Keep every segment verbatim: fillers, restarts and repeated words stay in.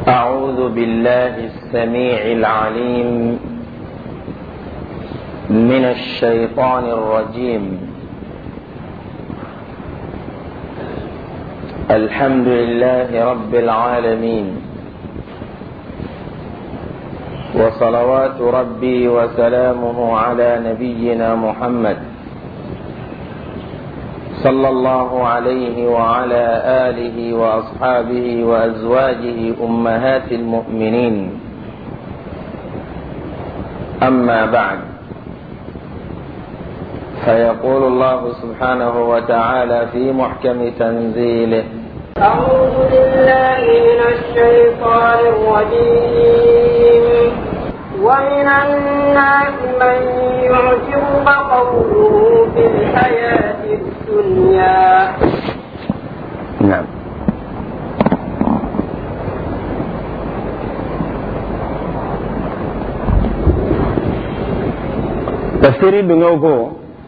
أعوذ بالله السميع العليم من الشيطان الرجيم. الحمد لله رب العالمين، وصلوات ربي وسلامه على نبينا محمد صلى الله عليه وعلى آله وأصحابه وأزواجه أمهات المؤمنين. أما بعد، فيقول الله سبحانه وتعالى في محكم تنزيله: أعوذ بالله من الشيطان الرجيم. ومن الناس من يعجبك قوله في الحياة الدنيا. نعم. تفسير دنيوكو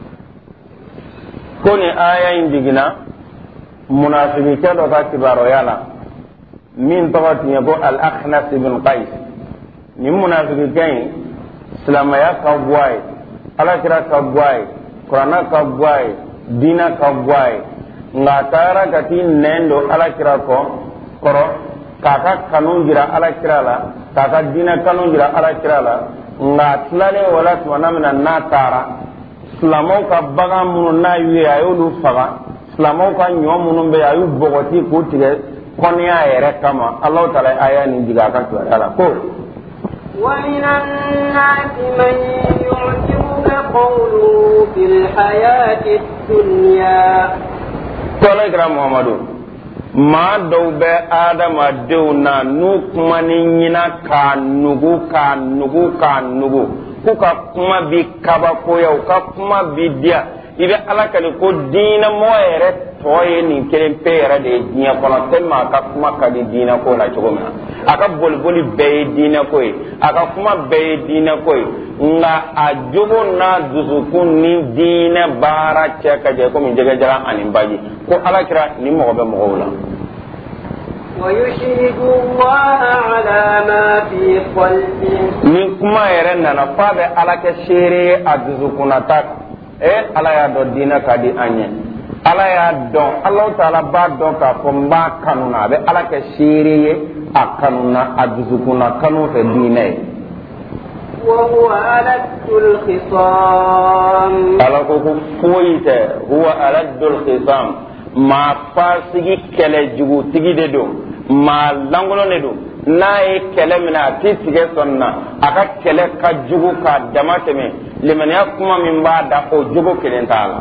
كوني آية إنديجنا منافقين كانوا كاتبارو يالا من طغت يبو الأخنس بن قيس ni munafiki kai islamaya ka boy ala kira ka boy qur'ana ka boy dina ka boy ngatara gati nendo ala kira ko koro kaka kanun jira ala kira la kaka dina kanun jira ala kira la ngatlale wala tuwana mina natara islamo ka baga munu na yuye ayolu faga islamo ka nyo munu be ayu bogoti ko tige konya yere kama allah taala aya ni diga ka to ala ko. ومن الناس من يعجبك قوله في الحياة الدنيا. قال إكرام محمد ما دوب آدم أدونا نكمنينا كانوغو كانوغو كانوغو كوكا كما بكابا كويا وكا كما بديا إذا على كنكو دينا مويرة توي نكلم بيرة دي دينا كنا تلما كا كما كدي دينا كونا تقومنا aka bolboli bɛɛ diinɛ ko ye a ka kuma bɛɛ ye diinɛ ko ye nka a jogo n'a dusukun ni diinɛ baara cɛ ka jɛ komi jɛgɛjaga ani baji ko ala kira ni mɔgɔ bɛ mɔgɔw la. ويشهد الله على ما في قلبه. ni kuma yɛrɛ nana f'a bɛ ala kɛ seere ye a dusukunnata eh ala y'a dɔn diinɛ ka di an ye ala y'a dɔn alahu taala b'a dɔn k'a fɔ n b'a kanu na a bɛ ala kɛ seere ye a kanuna a dusukunna kanu fɛ diinɛ ye. وهو ألد الخصام. ala ko ko foyi tɛ huwa aladul khisam maa fasigi kɛlɛ jugutigi de don maa lankolon de don n'a ye kɛlɛ minɛ a tɛ tigɛ sɔnni na a ka kɛlɛ ka jugu k'a dama tɛmɛ limaniya kuma min b'a da o jogo kelen t'a la.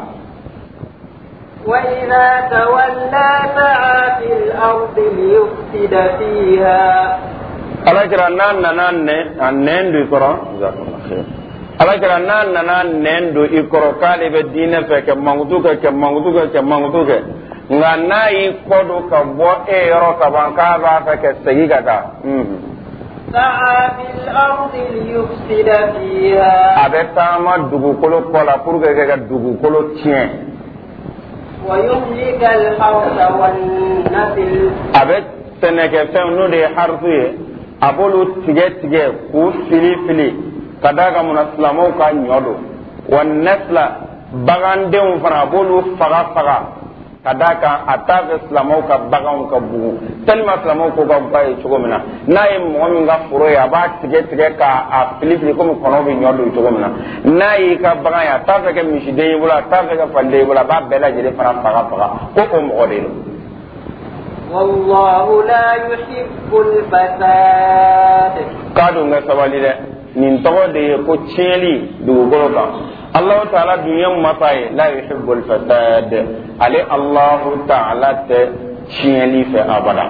وإذا تولى سعى في الأرض ليفسد فيها. ala kira n'a nana a nɛn don i kɔrɔ ala kira n'a nana nɛn don i kɔrɔ k'ale bɛ diinɛ fɛ kɛ mankutu kɛ kɛ mankutu kɛ kɛ mankutu kɛ nka n'a y'i kɔ don ka bɔ e yɔrɔ ka ban k'a b'a fɛ ka segin ka taa. سعى في الأرض ليفسد فيها. a bɛ taama dugukolo kɔ la pour que ka dugukolo tiɲɛ. ويهلك الحرث والنسل. a bɛ sɛnɛkɛfɛn n'o de ye harisu ye a b'olu tigɛ tigɛ k'u fili fili ka d'a kan munna silamɛw ka ɲɔ don wa nasila bagandenw fana a b'olu faga faga ka d'a kan a t'a fɛ silamɛw ka baganw ka bugu tellement silamɛw ko ka ba ye cogo min na n'a ye mɔgɔ min ka foro ye a b'a tigɛ tigɛ k'a fili fili komi kɔnɔw bɛ ɲɔ don cogo min na n'a y'i ka bagan ye a t'a fɛ kɛ misiden y'i bolo a t'a fɛ kɛ faliden y'i bolo a b'a bɛɛ lajɛlen fana faga faga ko o mɔgɔ de don. والله لا يحب الفساد. kado nga sabali dɛ nin tɔgɔ de ye ko tiɲɛli dugukolo kan allahu taala dun ye masa ye la yuhibbu alfasad ale allahu taala tɛ tiɲɛli fɛ abada.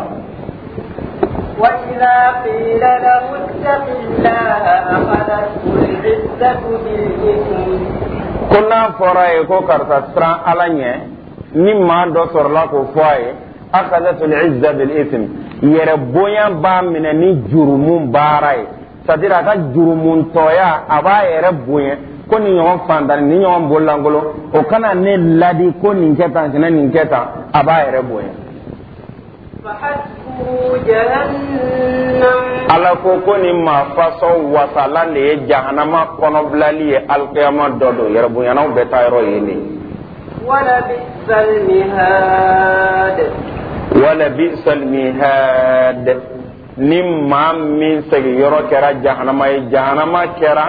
وإذا قيل له اتق الله أخذته العزة بالإثم. ko n'a fɔra ye ko karisa siran ala ɲɛ ni maa dɔ sɔrɔla k'o fɔ a ye أخذت العزة بالإثم يربويا بامنا ني جرمون باراي ساديرا كا جرمون تويا أبا يربويا ko ni ɲɔgɔn fandani ni ɲɔgɔn bololangolo o kana ne ladi ko nin kɛ tan kana nin kɛ tan a b'a yɛrɛ bonya. فحسبه جهنم ko ko ni ma faso wasala le jahannama kono blali alqiyama dodo yarbu yana be tayro yini wala bisal mihad wala bisal mihad nim ma min segi yoro kera jahannama jahannama kera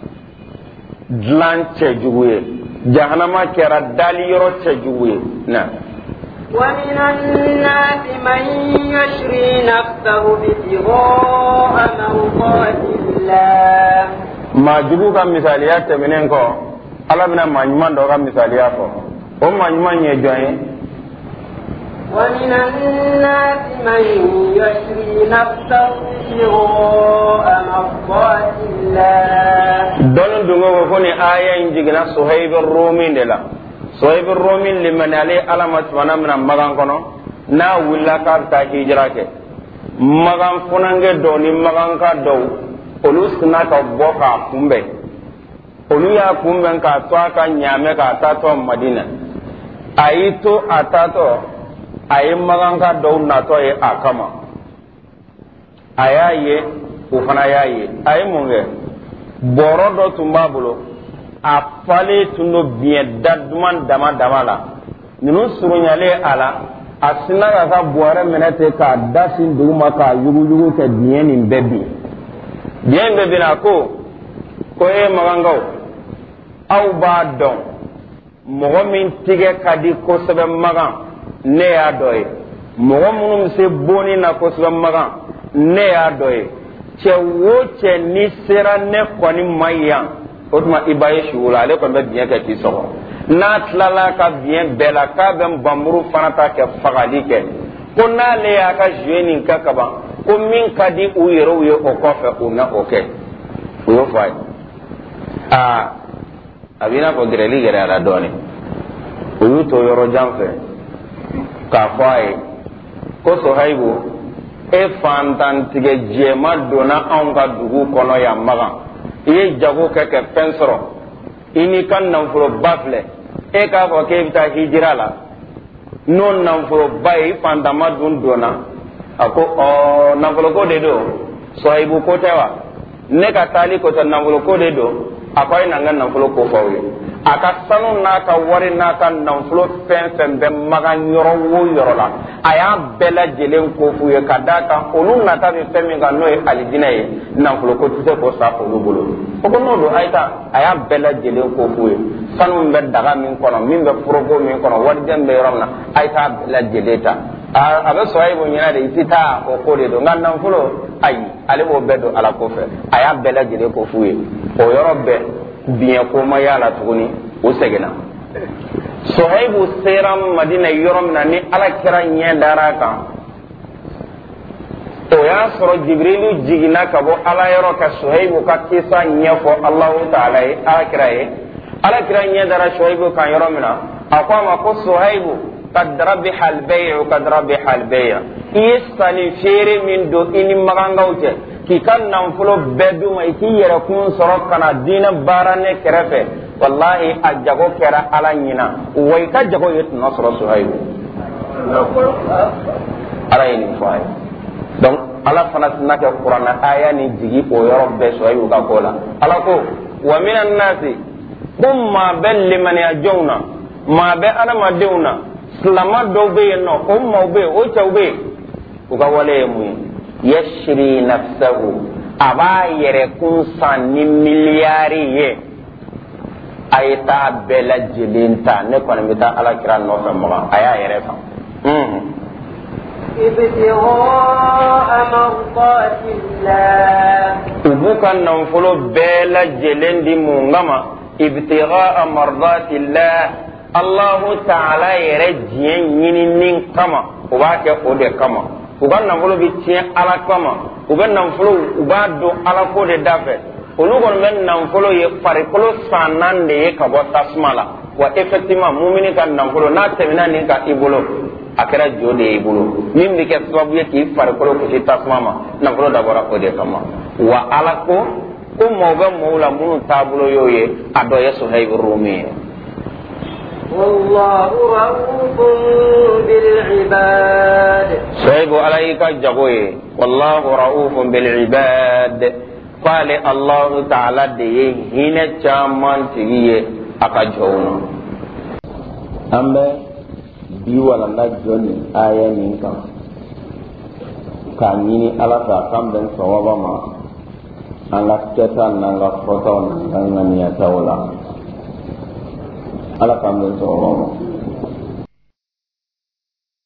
dlanche juwe jahannama kera dali yoro chejuwe na ومن الناس من يشري نفسه ابتغاء مرضات الله ما جبوك مثاليات منينكو ala bina manjuman do ga misaliya fo o manjuman ye joye ومن الناس من يشري نفسه ابتغاء مرضات الله دون دونغو ko ni aya injigina Suhaib ar-Rumi dela Suhaib ar-Rumi liman ali alamat wana mina magan kono na willa ka ta hijra ke magan funange do ni magan ka do olu suna ka boka kumbe olu ya kumbe ka to aka nyame ka ta to Madina ayito atato ay magan ka do na to e akama ayaye ufana yaye ay munge boro do tumbabulo a fale tundo bien dadman dama dama la ninu surunyale ala asina ka ka boare menete ka dasin duguma ka yugu yugu ke bien ni bebi bien bebi na ko ko e magangaw aw ba don mogo min tige kadi ko sebe magan ne ya doye mogo munum se boni na ko sebe magan ne ya doye che wo che ni sera ne koni mayan otuma ibaye shula ale ko be bien ke ti so na tlala ka bien bela ka ben bamuru fanata ke fagali ke ko na le ya ka jeni ka kaba ko min kadi u yero ye o ko fe una oke yo fay a abina ko greli gere ala doni u to yoro jamfe ka fay ko so haybu e fantan tige jema dona an ka dugu kono ya maga iye jago keke pensoro ini kan nanfulo bafle e ka fo ke bita hijira la non nanfulo bay fantama dun dona ako o nanfulo ko de do soibu ko tewa ne ka tali ko tan nanfulo ko de do akoy nangan nanfulo ko fawye aka sanu na ka wari na ka nanfulo fen fen be maga yoro wo yoro la aya bela jelen ko fuye kadaka onu na ta be femi ga no e alijina ye nanfulo ko tuse ko sa ko bolo o ko no do ayta aya bela jelen ko fuye sanu be daga min kono min be progo min kono wadi dembe yorona ayta bela jeleta a abe soyibo nyina de itita o ko de do ngan nanfulo ayi ale bo bedo ala ko fe aya bela jelen ko fuye o yoro be bien ko ma yala tuguni o segena Suhaibu seram Madina yorom na ni ala kira nye dara kan o ya soro Jibrilu jigina ka bo ala yoro ka Suhaibu ka kisa nye fo Allahu ta'ala e ala kira e ala kira nye dara Suhaibu kan yorom na akwa ma ko Suhaibu kad rabbi hal bay'u kad rabbi hal bay'a isani fere min do ini magangawte ki kan nan fulo bedu mai ki yere kun soro kana dina barane kerefe wallahi ajago kera ala nyina way ka jago yet nasro Suhaibu ala ini fay donc ala fanat naka qur'ana aya ni jigi o yoro be Suhaibu ka kola ala ko wa minan nasi umma bal liman yajuna ma be ana maduna slama do be no umma be o chawbe ko ka wale mu yashri nafsahu aba yere kun san ni miliyari ye ayta bela jilinta ne kono mita ala kira no fa mo aya yere fa mm ibtigha mardatillah ubukan nan fulo bela jelendi mu ngama ibtigha mardatillah Allah ta'ala yere jien yini nin kama o ba ke o de kama uban nan fulo bi tien ala kama uban nan fulo ubado ala ko de dafe olu gon men nan fulo ye pare kolo sanan de ye ka bo tasmala wa effectivement mu'mini kan nan fulo na temina ni ka ibolo akara jode ibolo min bi ke sababu ye ki pare kolo ko tasmama nan fulo da bora ko de kama wa ala ko ko mo ga mo la munu tabulo yoye ado ye Suhaib ar-Rumi والله رؤوف بالعباد صحيح عليك جوي والله رؤوف بالعباد قال الله تعالى دي هنا چامان تيجي اكاجونا امبه bi wala na joni aya min kan kamini ala ta kamben sawaba ma ala keta nanga foto nanga niya tawla ala kamben sawaba ma